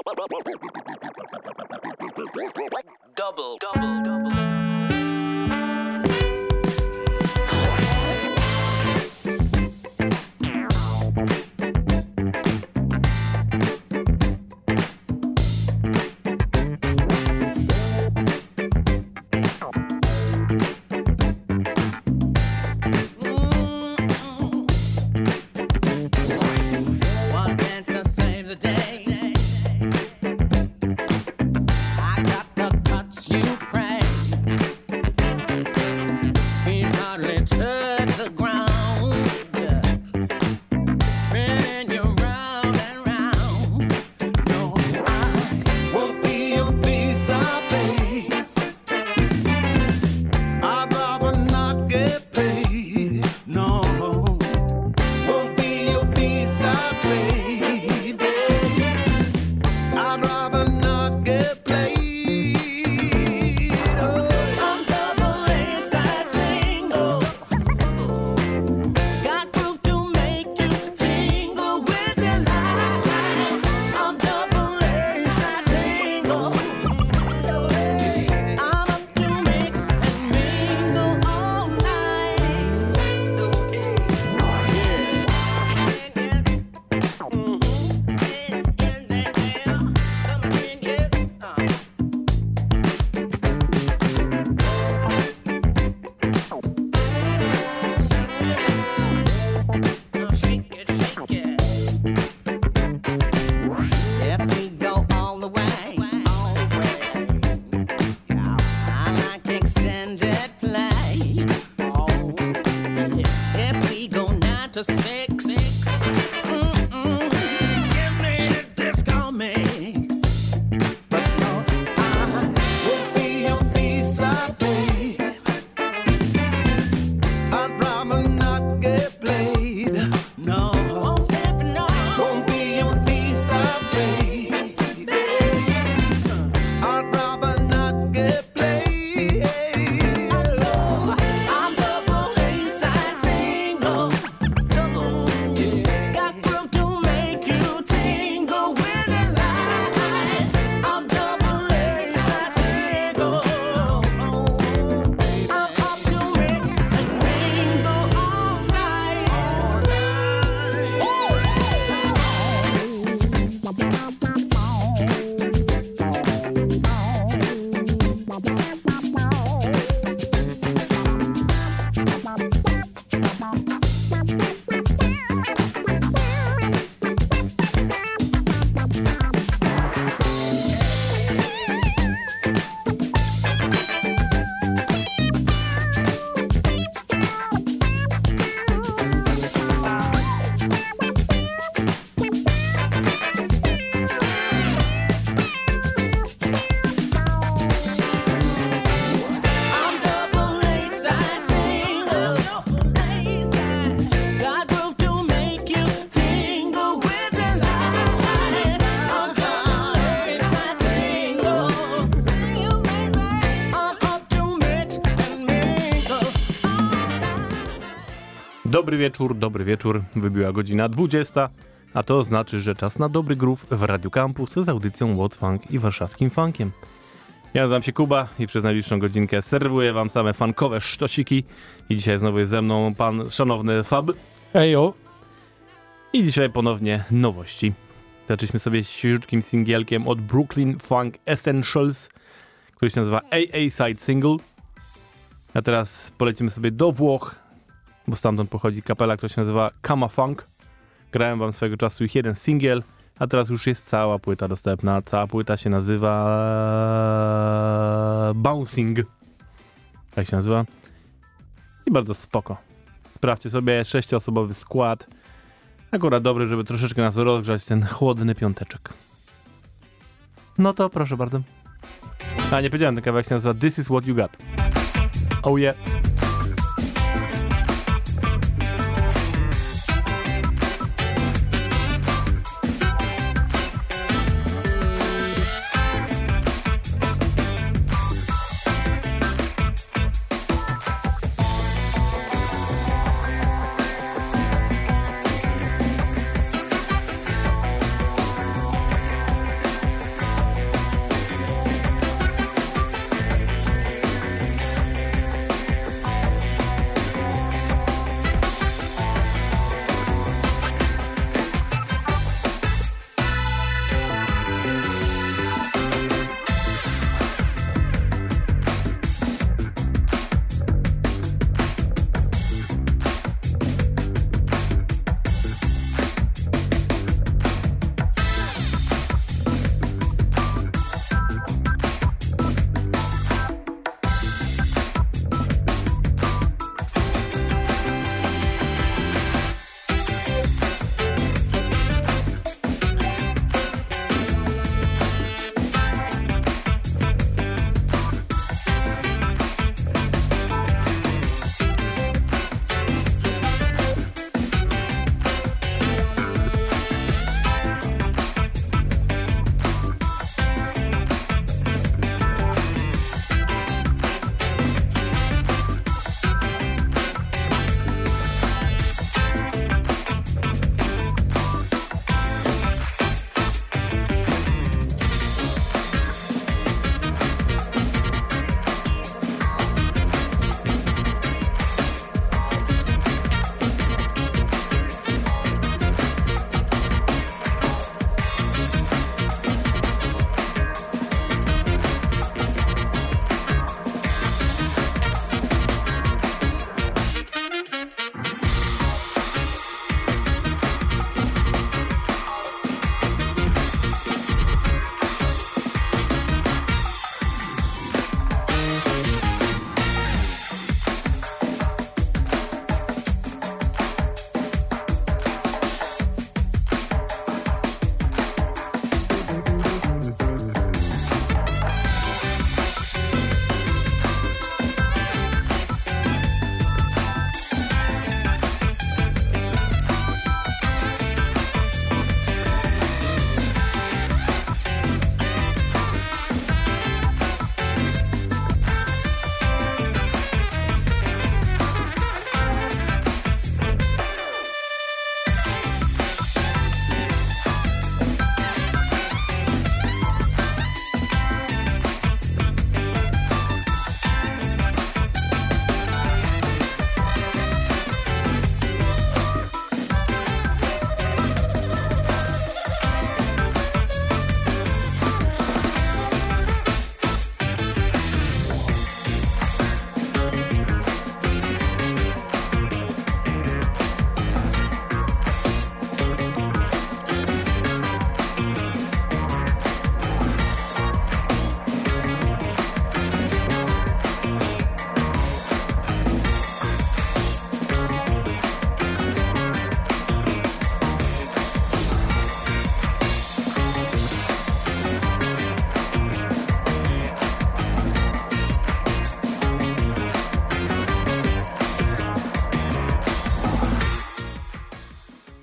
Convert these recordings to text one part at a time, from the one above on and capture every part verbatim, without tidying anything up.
Double, double, double. Dobry wieczór, dobry wieczór. Wybiła godzina dwudziesta, a to znaczy, że czas na dobry groove w Radio Campus z audycją What Funk i warszawskim funkiem. Ja nazywam się Kuba i przez najbliższą godzinkę serwuję wam same funkowe sztosiki. I dzisiaj znowu jest ze mną pan szanowny Fab. Ejo. I dzisiaj ponownie nowości. Zaczęliśmy sobie świeżutkim singielkiem od Brooklyn Funk Essentials, który się nazywa A A Side Single. A teraz polecimy sobie do Włoch, bo stamtąd pochodzi kapela, która się nazywa Kama Funk. Grałem wam swego czasu ich jeden singiel, a teraz już jest cała płyta dostępna. Cała płyta się nazywa Bouncing. Tak się nazywa. I bardzo spoko. Sprawdźcie sobie, sześcioosobowy skład. Akurat dobry, żeby troszeczkę nas rozgrzać w ten chłodny piąteczek. No to proszę bardzo. A nie powiedziałem, ten kawałek się nazywa This is what you got. Oh yeah.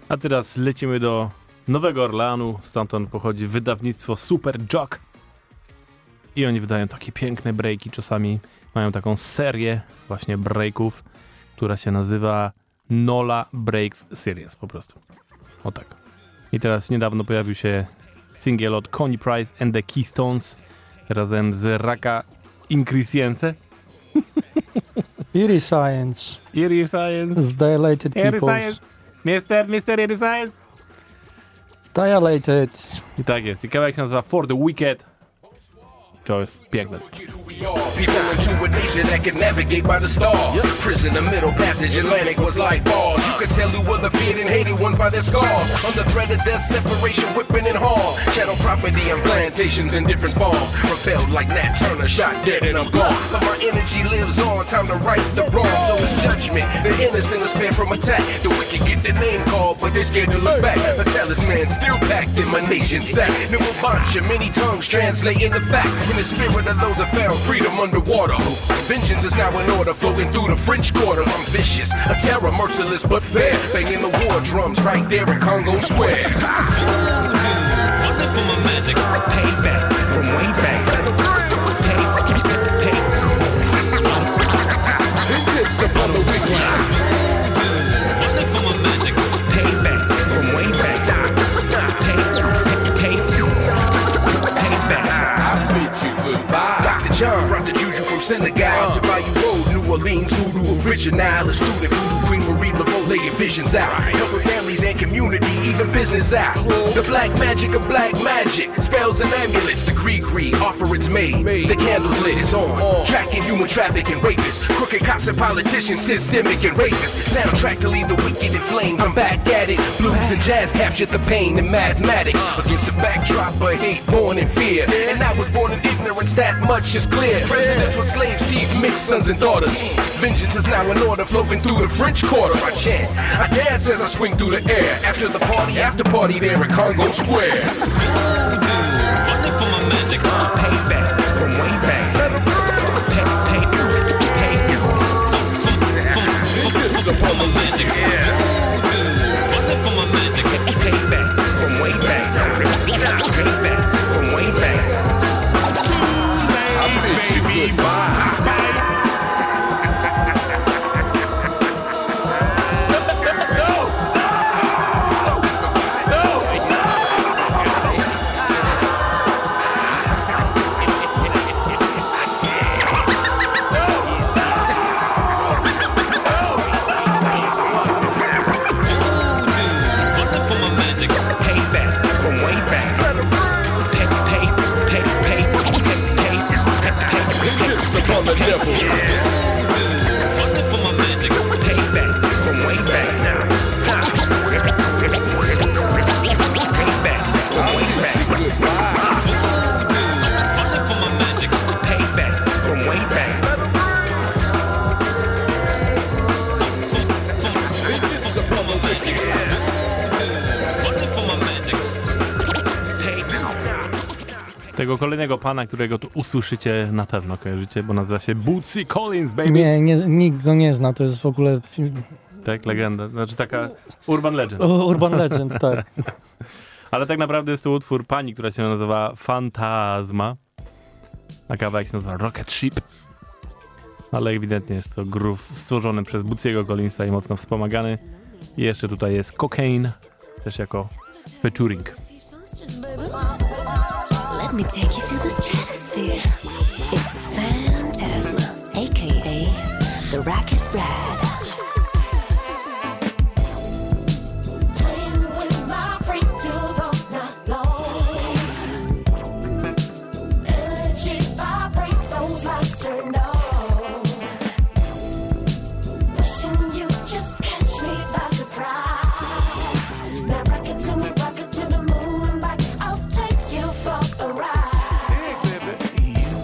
A teraz lecimy do Nowego Orleanu, stamtąd pochodzi wydawnictwo Super Jock. I oni wydają takie piękne breaki, czasami mają taką serię właśnie breaków, która się nazywa Nola Breaks Series po prostu. O tak. I teraz niedawno pojawił się singiel od Connie Price and the Keystones razem z Raka Increcience. Eerie Science. Eerie Science. Z Dilated Eerie Peoples. Science. Mister, Mister Eerie Science. Z Dilated. I tak jest. I kawałek się nazywa For the Wicked. To jest piękne. People into a nation that can navigate by the stars. Yep. Prison, the middle passage, Atlantic was like bars. You could tell who were the feared and hated ones by their scars. Under threat of death, separation, whipping and harm. Chattel property and plantations in different forms. Repelled like Nat Turner, shot dead and I'm gone. But my energy lives on, time to right the wrong. So it's judgment, the innocent is spared from attack. The wicked get their name called, but they're scared to look back. The talisman still packed in my nation's sack. New bunch many tongues translating the facts. In the spirit of those that found freedom underwater. Vengeance is now in order, flowing through the French Quarter. I'm vicious, a terror, merciless but fair. Banging the war drums right there in Congo Square. Wonderful my magic, payback from way back. Pay, pay, Vengeance upon the wicked. Wonderful my magic, payback from way back. Pay, pay, payback. I bid you goodbye. Doctor John brought the juju from Senegal to Bayou Road, New Orleans, voodoo original. A student voodoo queen Marie Laveau laying visions out, helping families and community, even business out. The black magic of black magic, spells and amulets. The gree-gree offer it's made. The candles lit, it's on. Tracking human traffic and rapists, crooked cops and politicians, systemic and racist. Soundtrack to leave the wicked in flames. I'm back at it. Blues and jazz captured the pain in mathematics against the backdrop of hate, born in fear. And I was born in ignorance, that much is clear. Presidents with slaves, teeth, mixed sons and daughters. Vengeance is now in order, flowing through the French Quarter. I chant, I dance as I swing through the air. After the party, after party there in Congo Square. Wonderful my magic, payback from way back. Pay, pay, pay. Vengeance upon the magic, yeah. Wonderful my magic, payback from way back. Payback from way back. I bid you goodbye. Upon the devil. Yeah. Wonderful my magic. Payback from way back now. Payback from way back. Wonderful my magic. Payback from way back. Vengeance upon the wicked. Wonderful my magic. Tego kolejnego pana, którego tu usłyszycie, na pewno kojarzycie, bo nazywa się Bootsy Collins, baby. Nie, nie, nikt go nie zna, to jest w ogóle... Tak, legenda, znaczy taka urban legend. Urban legend, tak. Ale tak naprawdę jest to utwór pani, która się nazywa Fantasma, a kawałek się nazywa Rocket Ship. Ale ewidentnie jest to groove stworzony przez Bootsiego Collinsa i mocno wspomagany. I jeszcze tutaj jest Cocaine, też jako featuring. Let me take you to the stratosphere. It's Phantasma, aka the Rocket Ride. Playing with my freak till the night long. Energy vibrate, those lights turn on. Wishing you just catch me by surprise. Now rock it to me, rock it to the moon and back. I'll take you for a ride.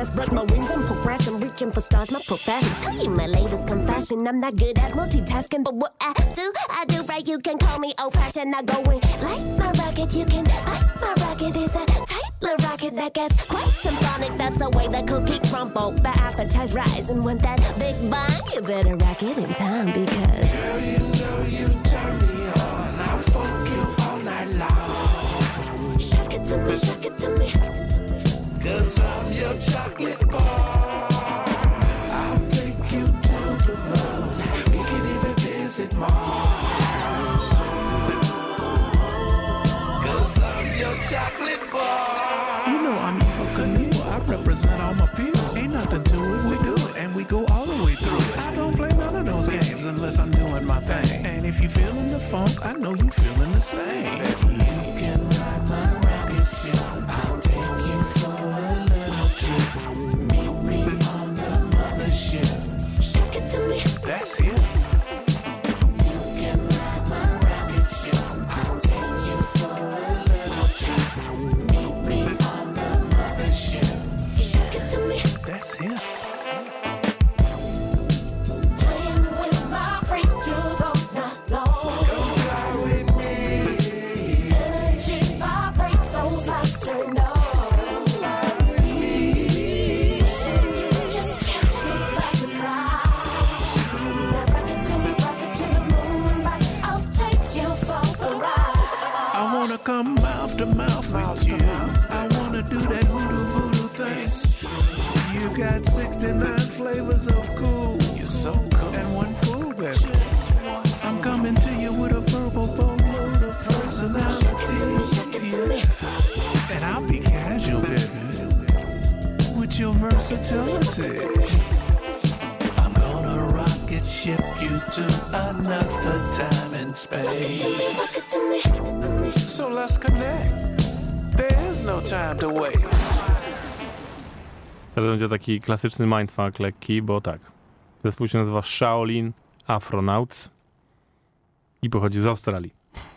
spread my wings and progress. I'm reaching for stars, my profession. Tell you my latest confession. I'm not good at multitasking, but what I do, I do right. You can call me old-fashioned. I go in like my rocket. You can like my rocket. Is that tight little rocket that gets quite symphonic? That's the way the cookie crumble. The appetize rise, and when that big bang, you better rock it in time because Girl, you know you turn me on. I'll fuck you all night long. shake it to me, shake it to me. Cause I'm your chocolate bar. I'll take you to the moon. We can even visit Mars. Cause I'm your chocolate bar. You know I'm Eva Knievel. I represent all my peers. Ain't nothing to it, we do it, and we go all the way through it. I don't play none of those games unless I'm doing my thing. And if you feeling the funk, I know you feeling the same. You can ride my rocket ship. I'll take you for a little trip. Meet me on the mothership. Shake it to me. That's it. You can ride my rocket ship. I'll take you for a little trip. Meet me on the mothership. Shake it to me. That's it. Playing with my freak to the night long. Come fly with me. Energy vibrate, those lights turn on. Wishing you could just catch me by surprise. Now rock it to me, rock it to the moon and back. I'll take you for a ride. I wanna come mouth to mouth with you. I wanna do that voodoo voodoo thing. You got sixty-nine flavors of cool. You're so cool. And one fool, baby. I'm coming to you with a verbal boatload of personality. Yeah. And I'll be casual, baby. With your versatility. I'm gonna rocket ship you to another time and space. So let's connect. There is no time to waste. To będzie taki klasyczny mindfuck lekki, bo tak. Zespół się nazywa Shaolin Afronauts i pochodzi z Australii.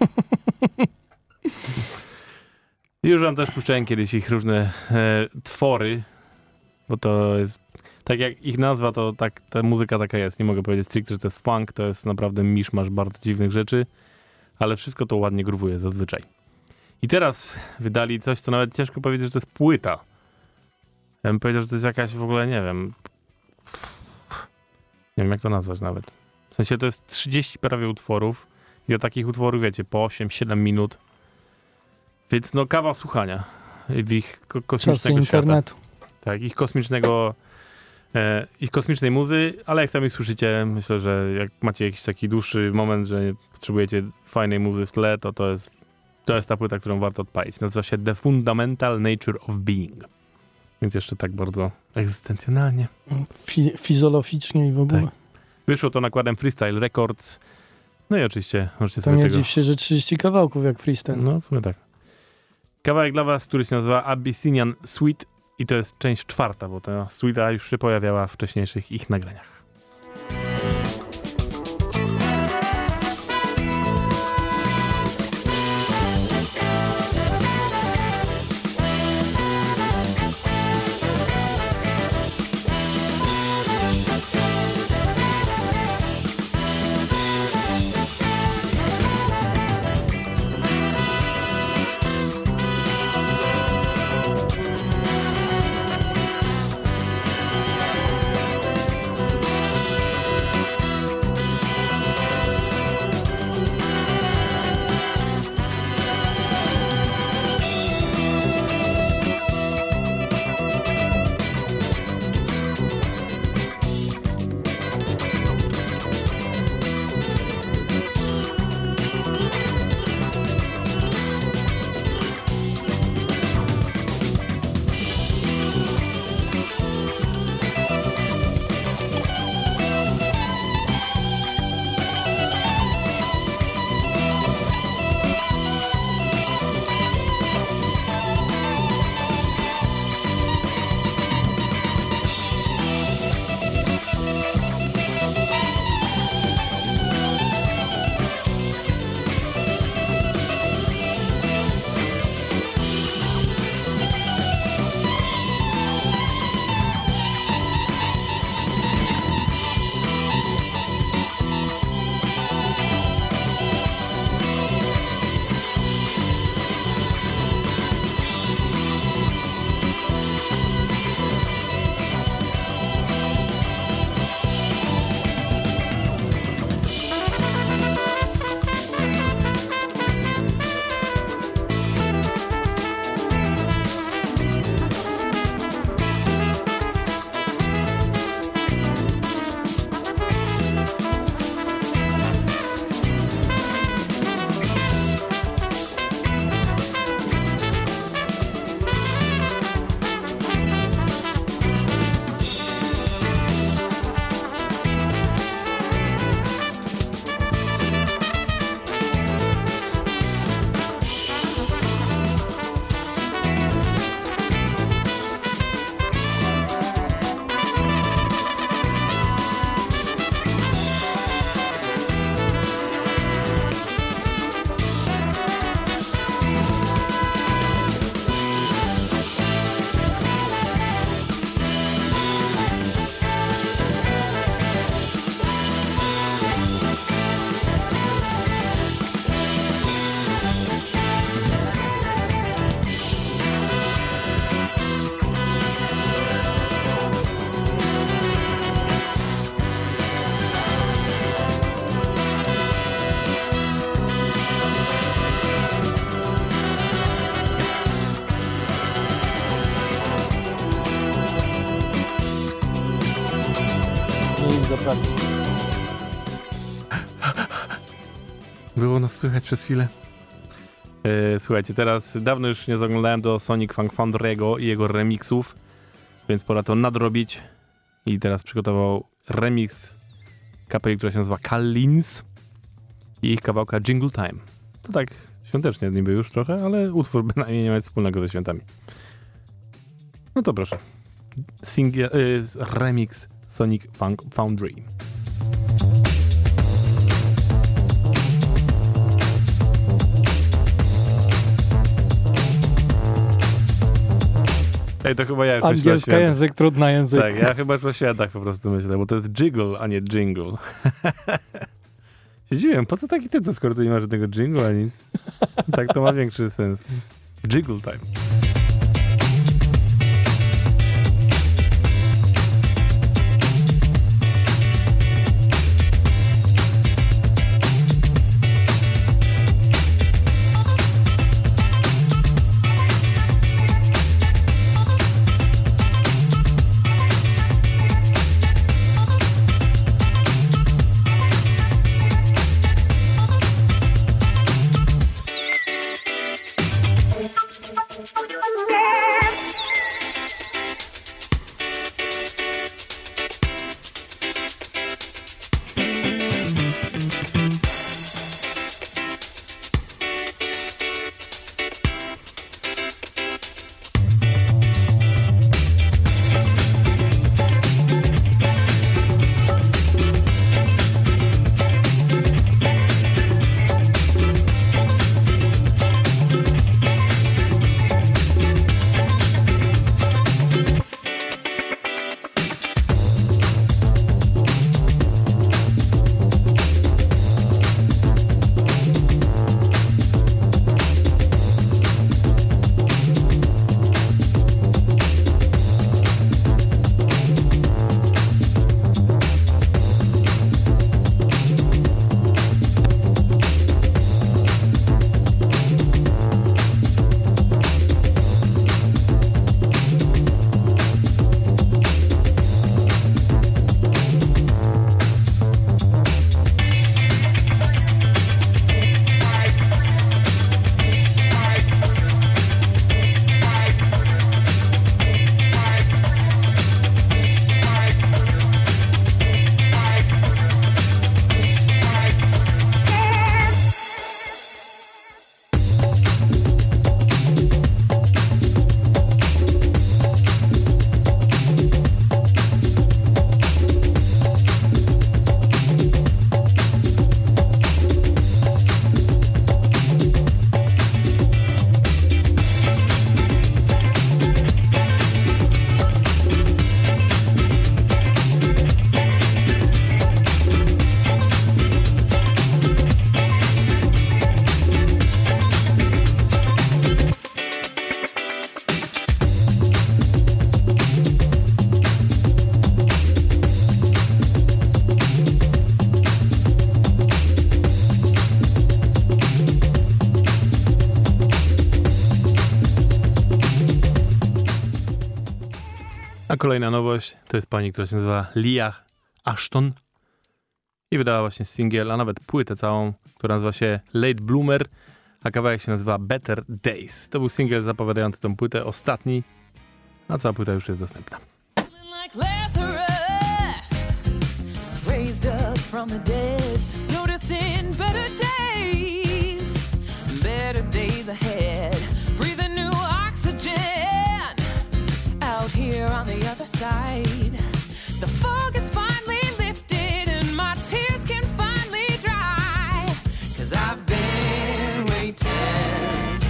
Już wam też puszczałem kiedyś ich różne e, twory, bo to jest, tak jak ich nazwa, to tak ta muzyka taka jest. Nie mogę powiedzieć stricte, że to jest funk, to jest naprawdę miszmasz bardzo dziwnych rzeczy, ale wszystko to ładnie gruwuje zazwyczaj. I teraz wydali coś, co nawet ciężko powiedzieć, że to jest płyta. Ja bym powiedział, że to jest jakaś w ogóle, nie wiem, nie wiem jak to nazwać nawet. W sensie to jest trzydzieści prawie utworów i do takich utworów, wiecie, po osiem siedem minut. Więc no kawał słuchania w ich ko- Czasy kosmicznego świata. internetu. Tak, ich kosmicznego, e, ich kosmicznej muzy, ale jak sami słyszycie, myślę, że jak macie jakiś taki dłuższy moment, że potrzebujecie fajnej muzy w tle, to to jest, to jest ta płyta, którą warto odpalić. Nazywa się The Fundamental Nature of Being. Więc jeszcze tak bardzo egzystencjonalnie. Fi- fizologicznie i w ogóle. Tak. Wyszło to nakładem Freestyle Records. No i oczywiście możecie To sobie nie tego... dziw się, że trzydzieści kawałków jak freestyle. No, w sumie tak. Kawałek dla was, który się nazywa Abyssinian Suite i to jest część czwarta, bo ta suita już się pojawiała w wcześniejszych ich nagraniach. Nie ich zaprawić. Było nas słychać przez chwilę. E, słuchajcie, teraz dawno już nie zaglądałem do Sonic Funk Foundry'ego i jego remixów, więc pora to nadrobić. I teraz przygotował remix kapeli, która się nazywa Kallins i ich kawałka Jingle Time. To tak świątecznie niby już trochę, ale utwór bynajmniej nie ma nic wspólnego ze świętami. No to proszę. Single, y, remix Sonic Funk Foundry. Ej, to chyba ja już Angielski język, trudny język. Tak, ja chyba już o świętach po prostu myślę, bo to jest jiggle, a nie jingle. Siedziłem, po co taki tytuł, skoro tu nie ma żadnego jingle, a nic? Tak to ma większy sens. Jiggle time. A kolejna nowość to jest pani, która się nazywa Leah Ashton i wydała właśnie singiel, a nawet płytę całą, która nazywa się Late Bloomer, a kawałek się nazywa Better Days. To był singiel zapowiadający tą płytę, ostatni, a cała płyta już jest dostępna. Raised up from the dead, noticing better days, better days ahead, breathing new oxygen, out here on the other side, the fog is finally lifted and my tears can finally dry, 'cause I've been waiting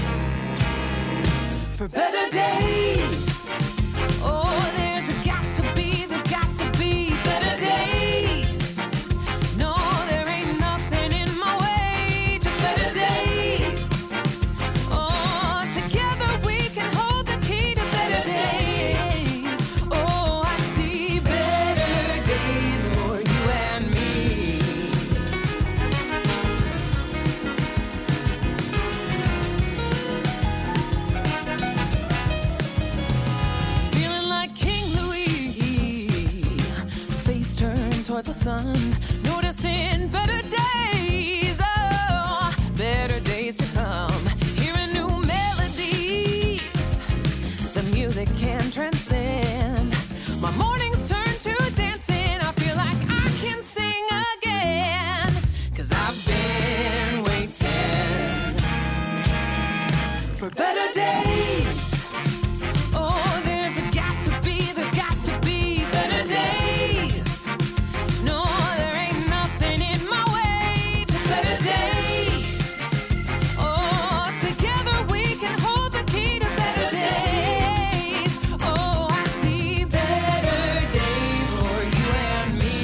for better days. Oh, there's got to be, there's got to be better days. No, there ain't nothing in my way, just better days. Oh, together we can hold the key to better days. Oh, I see towards the sun, noticing better days, oh, better days to come. Hearing new melodies, the music can transcend. My mornings turn to dancing, I feel like I can sing again. Cause I've been waiting for better days. Oh, there's a got to be, there's got to be better days. No, there ain't nothing in my way, just better days. Oh, together we can hold the key to better days. Oh, I see better days for you and me.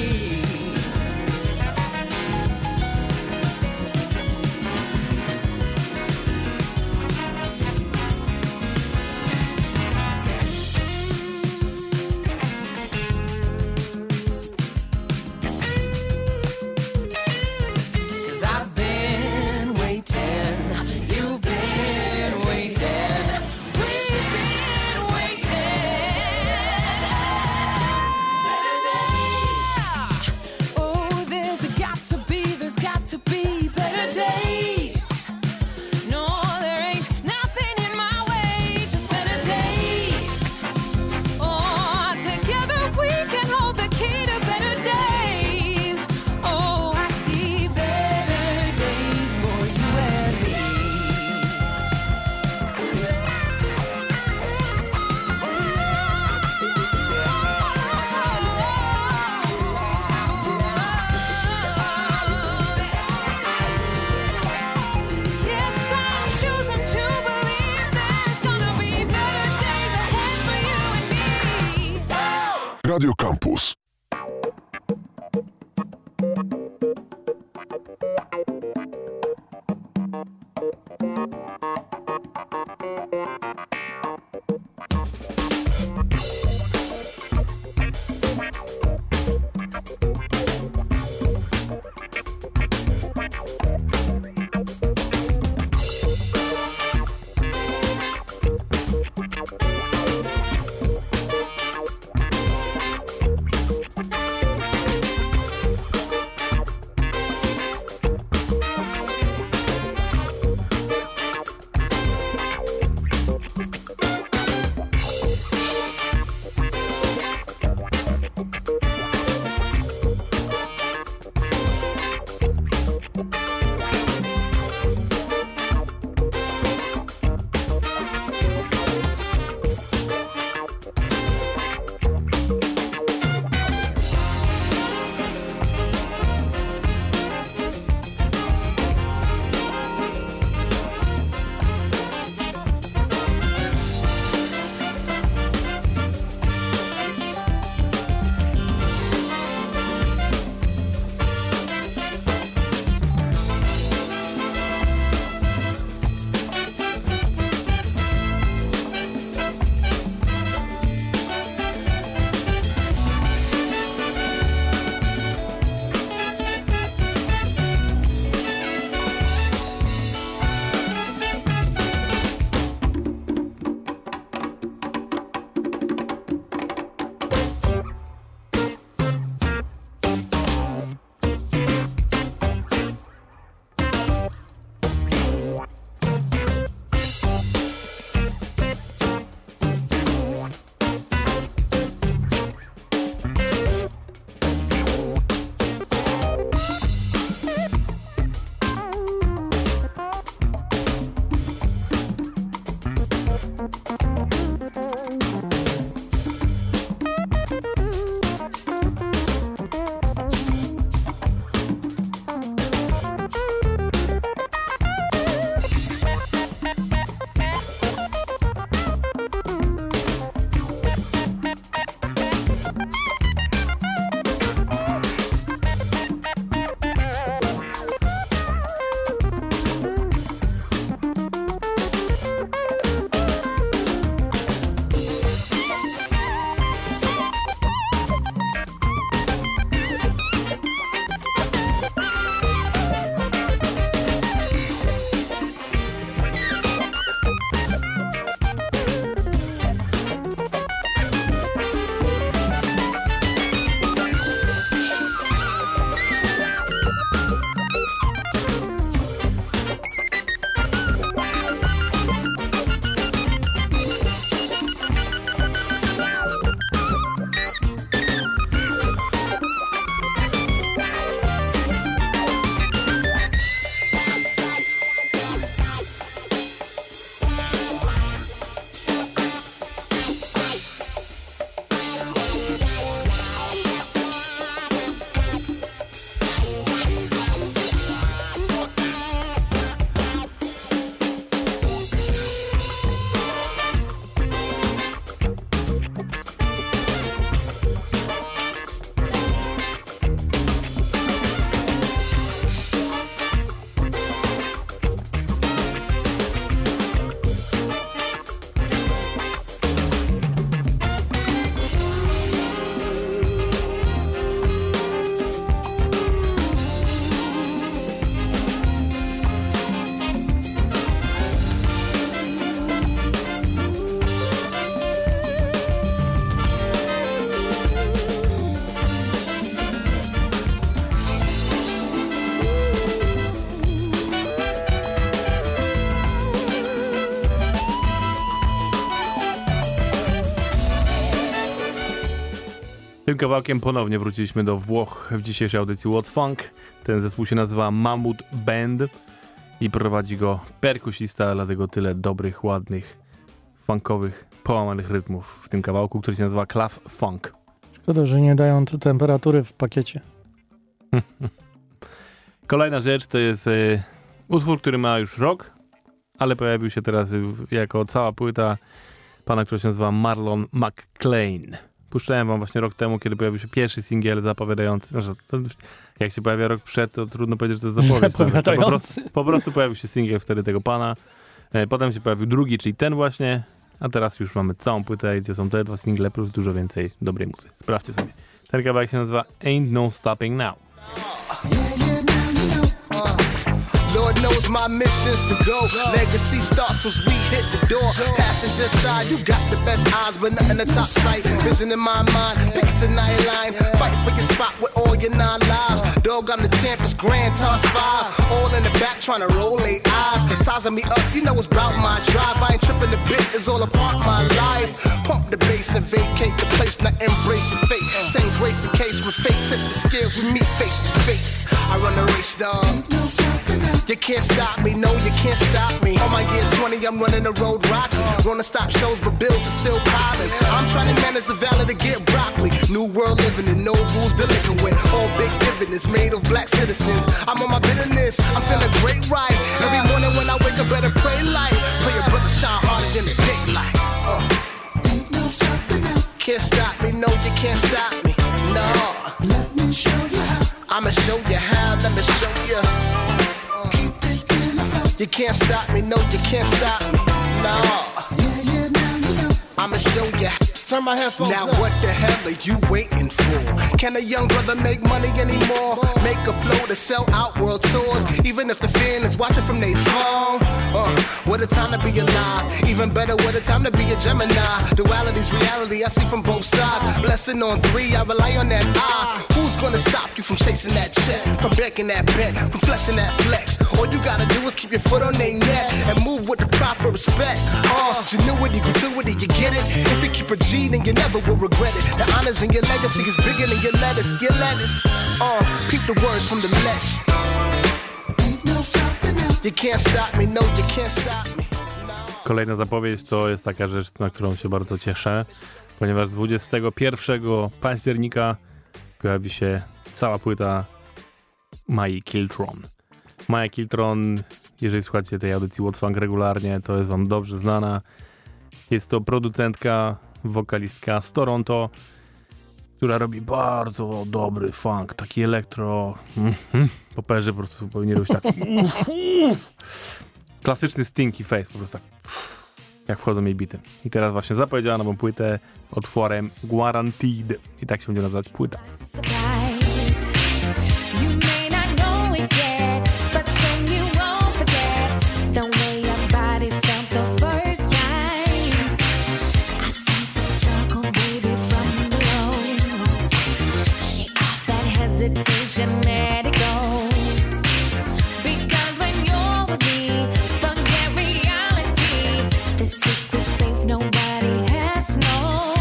Cause I've been waiting, you've been waiting, we've been waiting. Oh, there's a got to be, there's got to be better days. No, there ain't nothing in my way, just better days. Oh, together we can hold the key to better days. Oh, I see better days for you and me. Yes, I'm choosing to believe there's gonna be better days ahead for you and me. Radio Campus. Tym kawałkiem ponownie wróciliśmy do Włoch w dzisiejszej audycji What's Funk. Ten zespół się nazywa Mammut Band i prowadzi go perkusista, dlatego tyle dobrych, ładnych, funkowych, połamanych rytmów w tym kawałku, który się nazywa Clav Funk. Szkoda, że nie dają te temperatury w pakiecie. Kolejna rzecz to jest y, utwór, który ma już rok, ale pojawił się teraz y, jako cała płyta pana, który się nazywa Marlon McClain. Puszczałem wam właśnie rok temu, kiedy pojawił się pierwszy singiel zapowiadający. No, to, jak się pojawia rok przed, to trudno powiedzieć, że to jest zapowiedź. Zapowiadający. Po prostu, po prostu pojawił się singiel wtedy tego pana. E, potem się pojawił drugi, czyli ten właśnie. A teraz już mamy całą płytę, gdzie są te dwa single plus dużo więcej dobrej muzyki. Sprawdźcie sobie. Ten kawałek się nazywa Ain't No Stopping Now. Lord knows my mission's to go. Legacy starts as we hit the door. Passenger side, you got the best eyes, but nothing the top sight. Vision in my mind, pick it tonight line. Fight for your spot with all your nine lives. Dog, I'm the champ, it's grand times five. All in the back trying to roll eight eyes. Sizing me up, you know it's about my drive. I ain't tripping the bit, it's all a part of my life. Pump the bass and vacate the place, now embrace your fate. Same grace in case with fate, tip the scales, we meet face to face. I run the race, dog. You can't stop me, no, you can't stop me. On my year twenty, I'm running the road rocky. Wanna stop shows, but bills are still piling. I'm trying to manage the valley to get broccoli. New world living in no rules, delinquent. All big dividends made of black citizens. I'm on my bitterness, I'm feeling great right. Every morning when I wake up, better pray light. Pray your brother shine harder than the daylight. Uh. Can't stop me, no, you can't stop me. No. Let me show you how. I'ma show you how, let me show you. You can't stop me, no, you can't stop me, no. I'ma show you. Turn my headphones now, up. What the hell are you waiting for? Can a young brother make money anymore? Make a flow to sell out world tours, even if the fan is watching from their phone. Uh, what a time to be alive. Even better, what a time to be a Gemini. Duality's reality, I see from both sides. Blessing on three, I rely on that eye. Who's gonna stop you from chasing that check? From becking that bet, from flexing that flex? All you gotta do is keep your foot on their neck and move with the proper respect. Uh, ingenuity, gratuity, you get it? If you keep a G, then you never will regret it. The honors in your legacy is bigger than your lettuce. Your lettuce. Uh, peep the words from the ledge. You can't stop me, no, you can't stop me. Kolejna zapowiedź to jest taka rzecz, na którą się bardzo cieszę, ponieważ dwudziestego pierwszego października pojawi się cała płyta Mai Kiltron. Maja Kiltron, jeżeli słuchacie tej audycji What's Funk regularnie, to jest wam dobrze znana. Jest to producentka, wokalistka z Toronto, która robi bardzo dobry funk, taki elektro. Mm-hmm. Poperzy po prostu powinien robić tak. Klasyczny stinky face, po prostu tak. Jak wchodzą jej bity. I teraz właśnie zapowiedziała nową płytę utworem Guaranteed. I tak się będzie nazywać płyta. Let it go. Because when you're with me, forget reality. The secret safe nobody has known.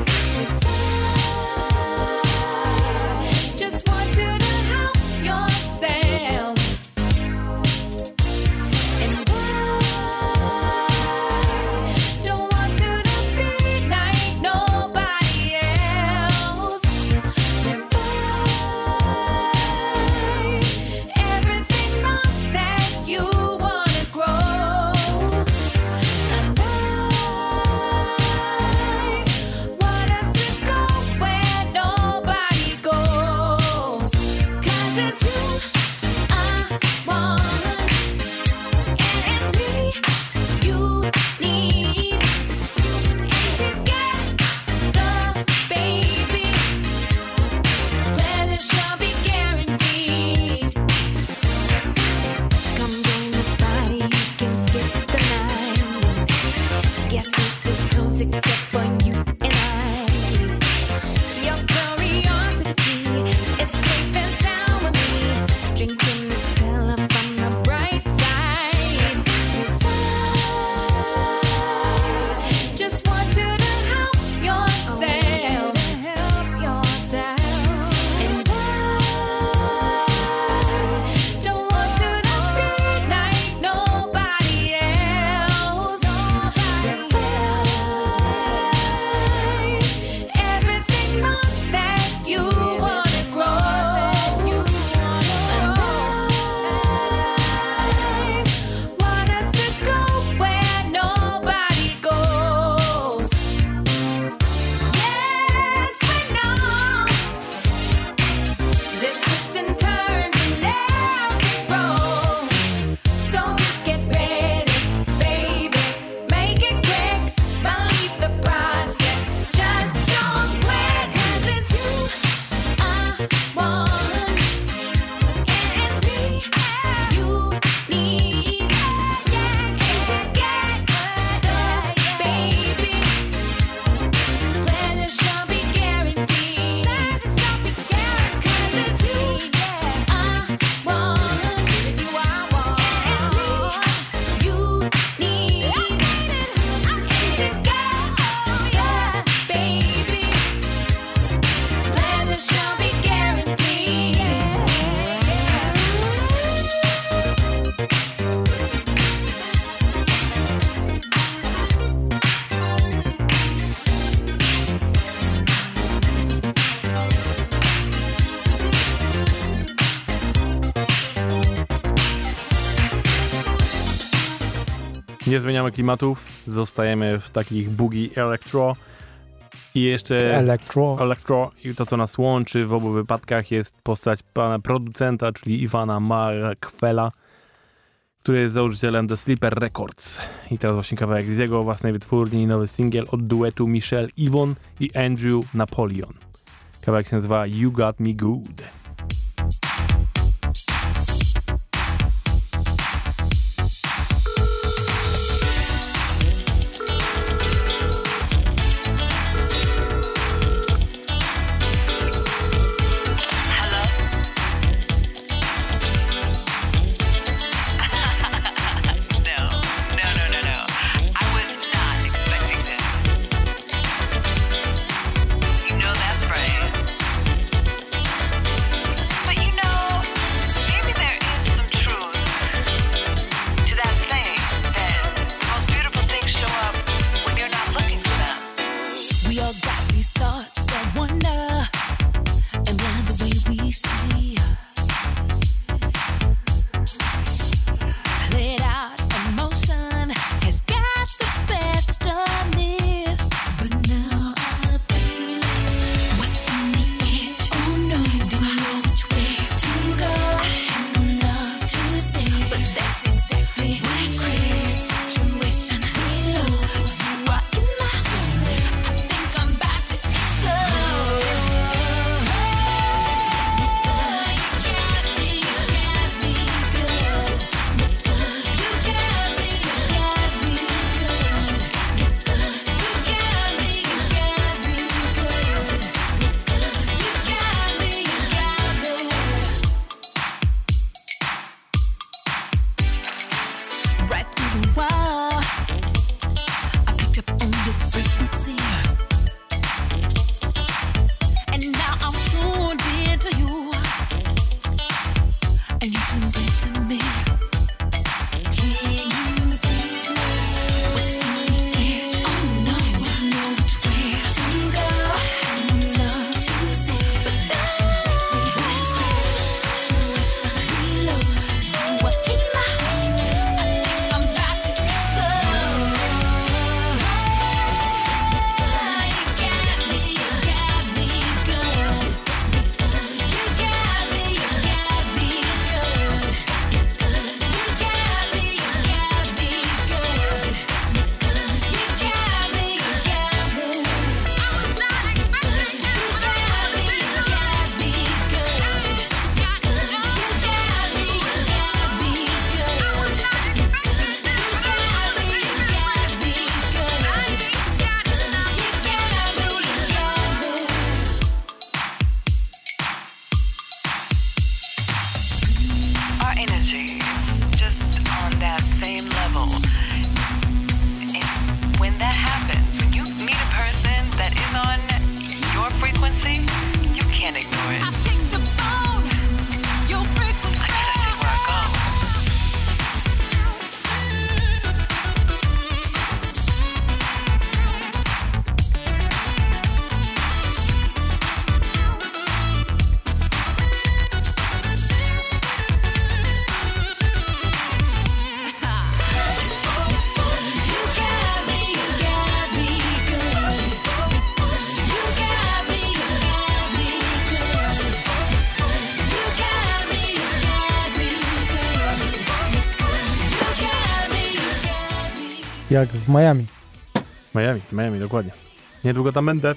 I just want you to help yourself. And I don't want you to be like nobody else. And I Nie zmieniamy klimatów, zostajemy w takich boogie electro i jeszcze Electro. electro i to, co nas łączy w obu wypadkach, jest postać pana producenta, czyli Iwana Markwela, który jest założycielem The Sleeper Records. I teraz właśnie kawałek z jego własnej wytwórni, nowy singiel od duetu Michelle Yvonne i Andrew Napoleon. Kawałek się nazywa You Got Me Good. Jak w Miami. Miami, Miami, dokładnie. Niedługo tam będę.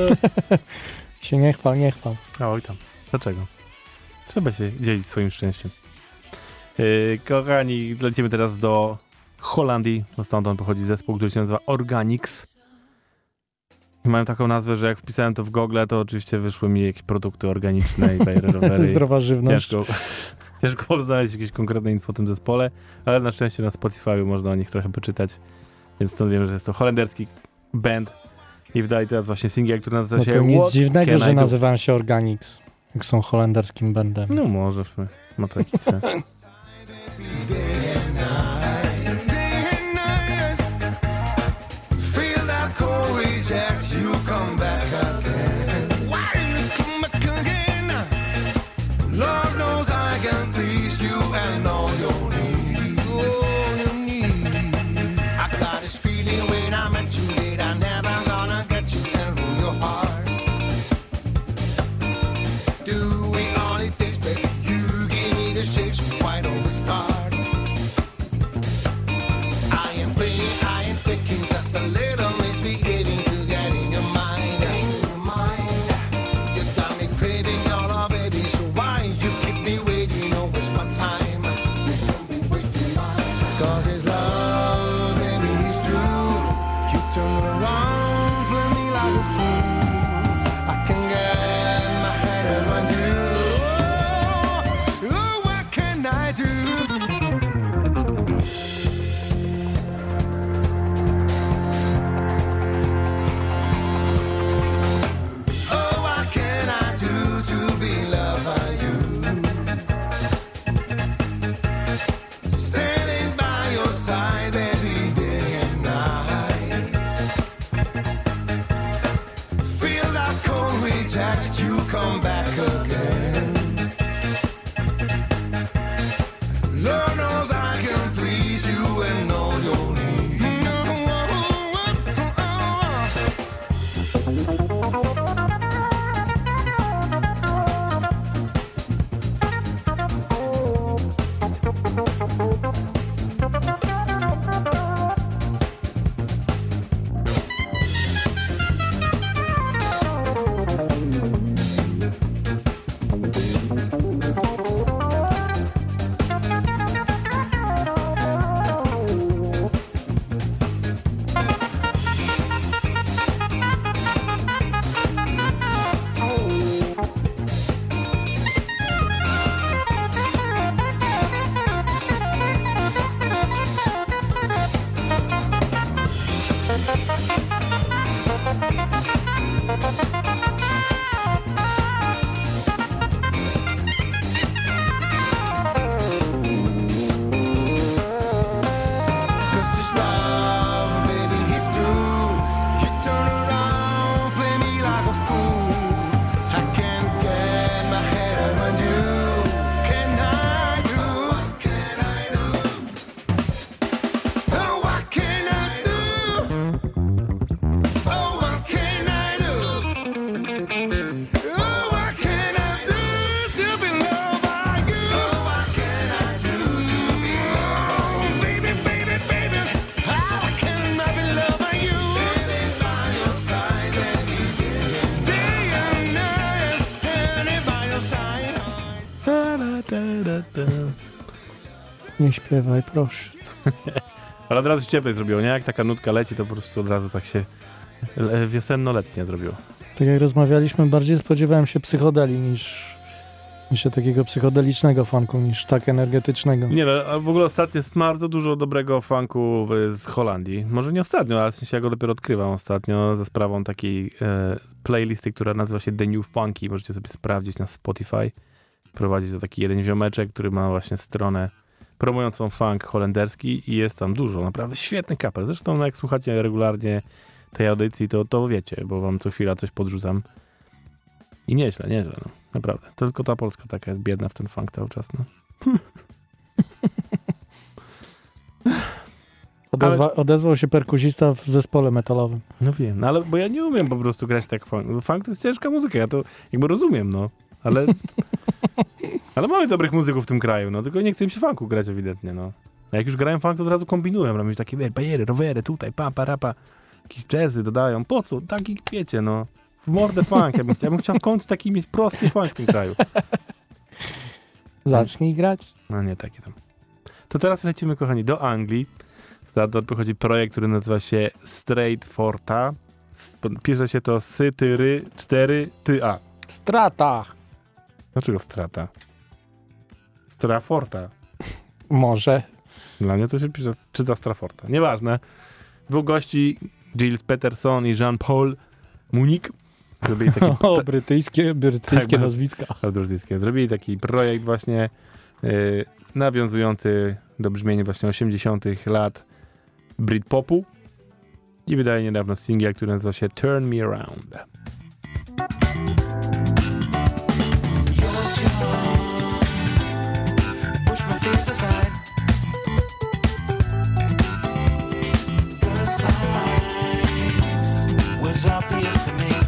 Się nie chwal, nie chwal. Oj tam. Dlaczego? Trzeba się dzielić swoim szczęściem. Yy, kochani, lecimy teraz do Holandii. No stamtąd pochodzi zespół, który się nazywa Organics. I mają taką nazwę, że jak wpisałem to w Google, to oczywiście wyszły mi jakieś produkty organiczne i rowery. Zdrowa żywność. Ciężko, ciężko znaleźć jakieś konkretne info o tym zespole, ale na szczęście na Spotify można o nich trochę poczytać. Więc stąd wiem, że jest to holenderski band i wydali teraz właśnie singiel, który nazywa No się to nic What dziwnego, Can że I Do? nazywają się Organics, jak są holenderskim bandem. No może w sumie, ma to jakiś sens. Nie śpiewaj, proszę. Ale od razu się cieplej zrobiło, nie? Jak taka nutka leci, to po prostu od razu tak się le- wiosenno-letnie zrobiło. Tak jak rozmawialiśmy, bardziej spodziewałem się psychodeli niż, niż się takiego psychodelicznego funku, niż tak energetycznego. Nie no, a w ogóle ostatnio jest bardzo dużo dobrego funku w- z Holandii. Może nie ostatnio, ale w sensie ja go dopiero odkrywam ostatnio za sprawą takiej e, playlisty, która nazywa się The New Funky. Możecie sobie sprawdzić na Spotify. Prowadzi to taki jeden ziomeczek, który ma właśnie stronę promującą funk holenderski i jest tam dużo, naprawdę świetny kapel. Zresztą no, jak słuchacie regularnie tej audycji, to, to wiecie, bo wam co chwila coś podrzucam. I nieźle, nieźle, no. Naprawdę. Tylko ta Polska taka jest biedna w ten funk cały czas, no. Odezwa, Ale- Odezwał się perkusista w zespole metalowym. No wiem, no ale bo ja nie umiem po prostu grać tak funk. Funk to jest ciężka muzyka, ja to jakby rozumiem, no. Ale, ale mamy dobrych muzyków w tym kraju, no. Tylko nie chce im się funku grać ewidentnie, no. A jak już grają funk, to od razu kombinują. Robią takie wiesz, bajery, rowery, tutaj, pa, pa, rapa. Jakieś jazzy dodają. Po co? Taki, wiecie, no. W mordę funk. Ja bym, ja bym chciał w końcu taki mieć prosty funk w tym kraju. Zacznij grać. No nie, takie tam. To teraz lecimy, kochani, do Anglii. Stamtąd pochodzi projekt, który nazywa się Straight Forta. Pisze się to sy, ty, ry, cztery, ty, a. Strata. Dlaczego strata? Straforta. Może. Dla mnie to się pisze, czyta Straforta. Nieważne. Dwóch gości, Gilles Peterson i Jean-Paul Munich, zrobili taki... O, brytyjskie, brytyjskie Tak, nazwiska. Brytyjskie. Zrobili taki projekt właśnie yy, nawiązujący do brzmienia właśnie osiemdziesiątych lat Britpopu i wydaje niedawno singiel, który nazywa się Turn Me Around. Push my fears aside. The signs was obvious to me.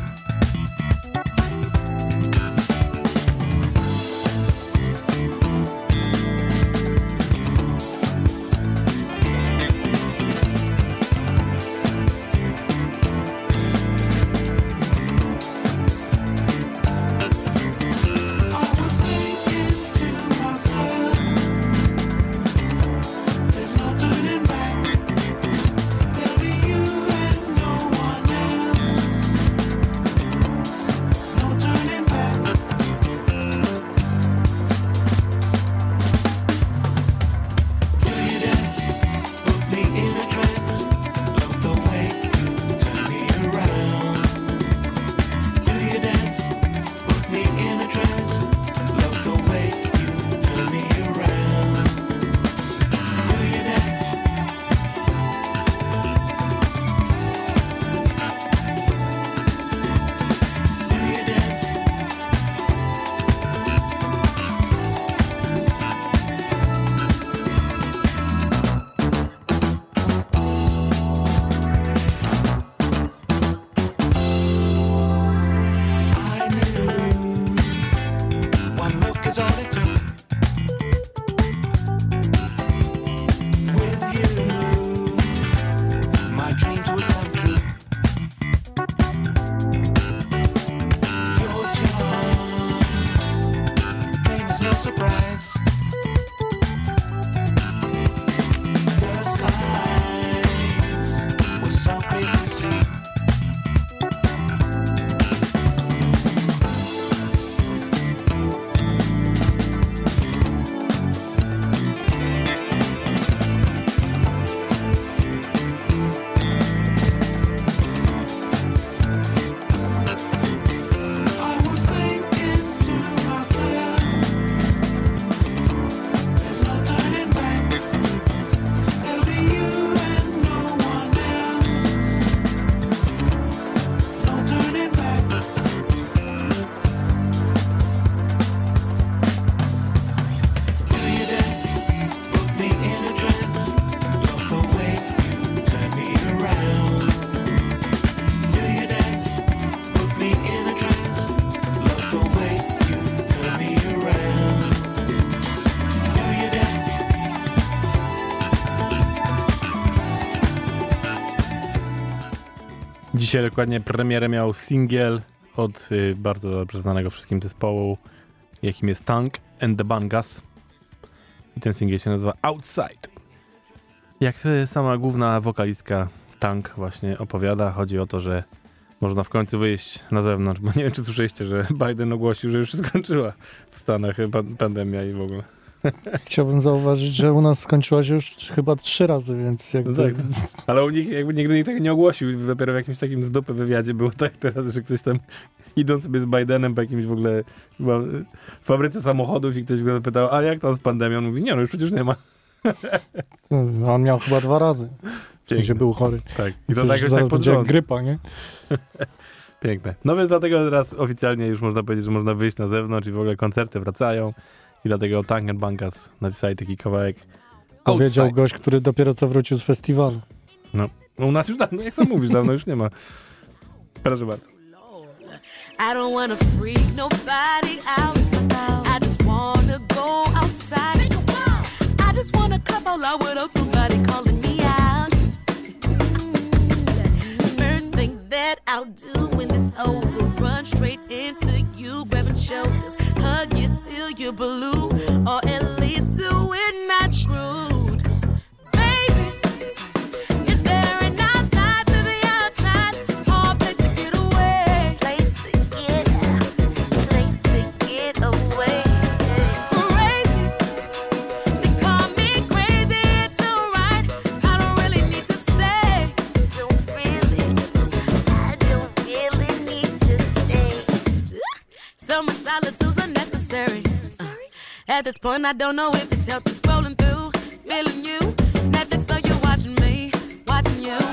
Dzisiaj dokładnie premierę miał singiel od y, bardzo dobrze znanego wszystkim zespołu, jakim jest Tank and the Bangas. I ten singiel się nazywa Outside. Jak sama główna wokalistka Tank właśnie opowiada, chodzi o to, że można w końcu wyjść na zewnątrz, bo nie wiem, czy słyszeliście, że Biden ogłosił, że już się skończyła w Stanach pan- pandemia i w ogóle. Chciałbym zauważyć, że u nas skończyła się już chyba trzy razy, więc jakby... No tak, ale u nich jakby nigdy nikt tego nie ogłosił. Dopiero w jakimś takim z dupy wywiadzie było tak teraz, że ktoś tam idą sobie z Bidenem po jakimś w ogóle chyba fabryce samochodów i ktoś go zapytał, a jak tam z pandemią? On mówi, nie no, już przecież nie ma. No, on miał chyba dwa razy. W sensie był chory. Tak. I I to to tak tak już tak pod będzie jak rząd. grypa, nie? Piękne. No więc dlatego teraz oficjalnie już można powiedzieć, że można wyjść na zewnątrz i w ogóle koncerty wracają. I dlatego Tank and Bankas napisali taki kawałek Powiedział Outside. gość, który dopiero co wrócił z festiwalu. No, u nas już dawno, jak sam mówisz, dawno już nie ma. Proszę bardzo. I don't wanna freak nobody out. I just wanna go outside. I just wanna cup all out without somebody calling me out. First thing that I'll do when it's over, run straight into you, grabbing shoulders, hug you till you're blue, or at least till we're not screwed. Baby, is there an outside to the outside, or a place to get away? Place to get out, place to get away. Crazy, they call me crazy, it's alright. I don't really need to stay. Don't really, I don't really need to stay. So much solitude's unnecessary. Uh, at this point, I don't know if it's healthy scrolling through, feeling you. Netflix, so you're watching me, watching you.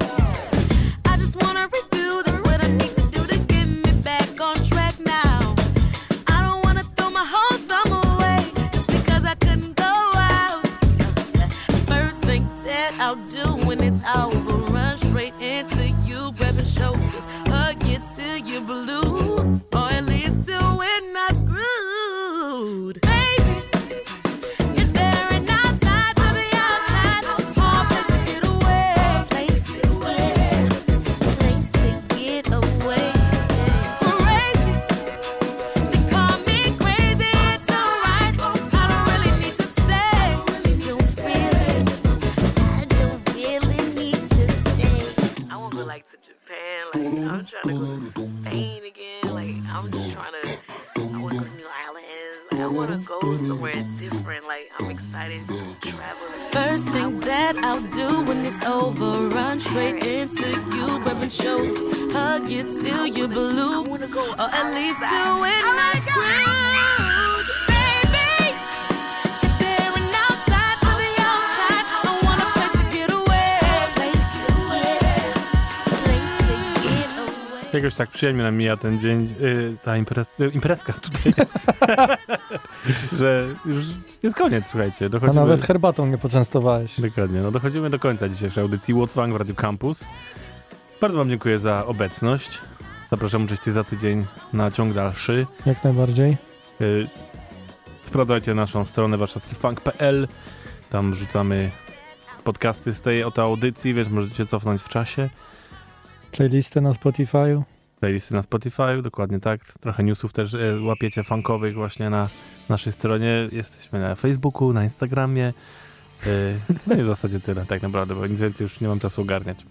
I just wanna review this, what I need to do to get me back on track now. I don't wanna throw my whole summer away just because I couldn't go out. Uh, first thing that I'll do when it's over, run straight into you, grabbing shoulders, hug you till you're blue, or at least till we're not screwed. Baby, is there an outside to the outside, or a place to get away? Place to get, place to get away. Crazy, they call me crazy, it's alright. I don't really need to stay. Don't really, I don't really need to stay. I want to go like to Japan, like I'm trying to go to Spain again, like I'm just trying to, I want to go to New Orleans, like I want to go somewhere different, like I'm excited to travel. First thing that I'll do when it's over, run straight into you, grabbing shoulders, hug you till you're blue, or at least till we're not screwed. Baby, is there an outside to the outside? I want a place to get away. Place to get, place to get away. Jakoś tak przyjemnie nam mija ten dzień, yy, ta imprez, yy, imprezka tutaj, że już jest koniec, słuchajcie. A Dochodzimy, nawet herbatą nie poczęstowałeś. dokładnie, no dochodzimy do końca dzisiejszej audycji What's Funk w Radio Campus. Bardzo wam dziękuję za obecność. Zapraszam oczywiście za tydzień na ciąg dalszy. Jak najbardziej. Yy, sprawdzajcie naszą stronę warszawski funk kropka p l. Tam rzucamy podcasty z tej oto audycji, więc możecie cofnąć w czasie. Playlisty na Spotify'u. Playlisty na Spotify, dokładnie tak. Trochę newsów też e, łapiecie funkowych właśnie na naszej stronie. Jesteśmy na Facebooku, na Instagramie. E, no i w zasadzie tyle tak naprawdę, bo nic więcej już nie mam czasu ogarniać.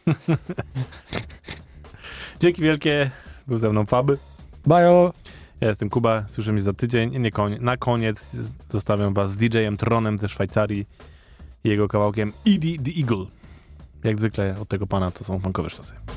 Dzięki wielkie. Był ze mną Fab. Bajo! Ja jestem Kuba. Słyszymy się za tydzień. Nie konie- na koniec zostawiam was z D J-em Tronem ze Szwajcarii i jego kawałkiem Edie the Eagle. Jak zwykle od tego pana to są funkowe sztosy.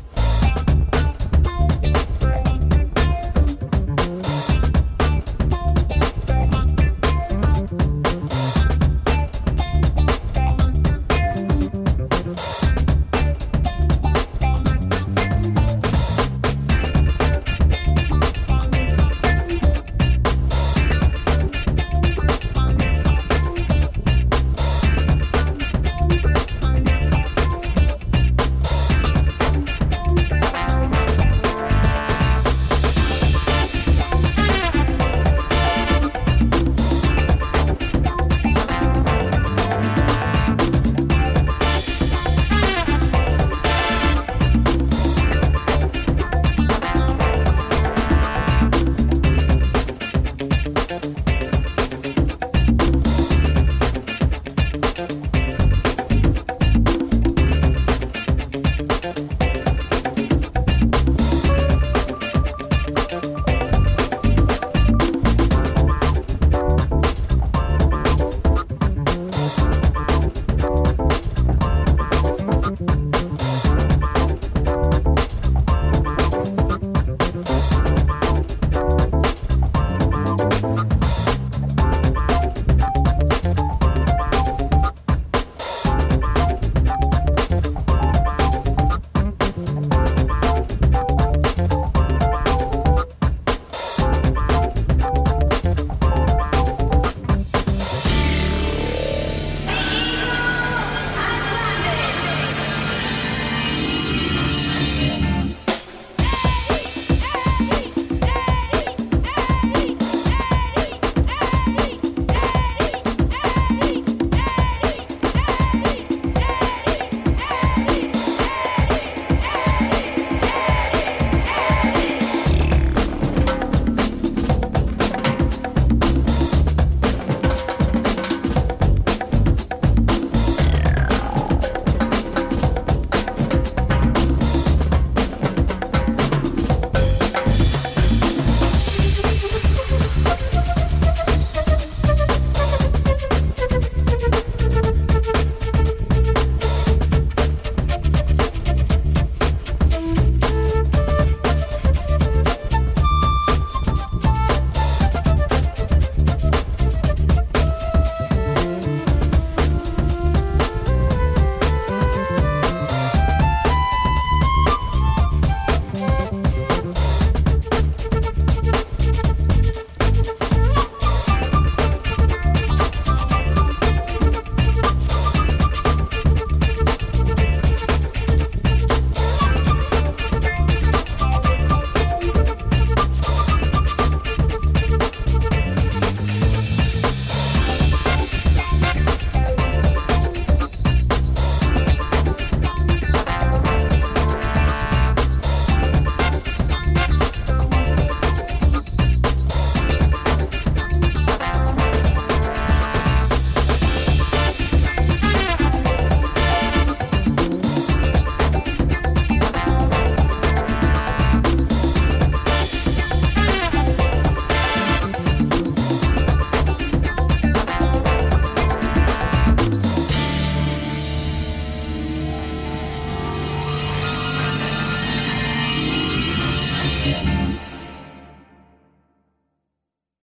Thank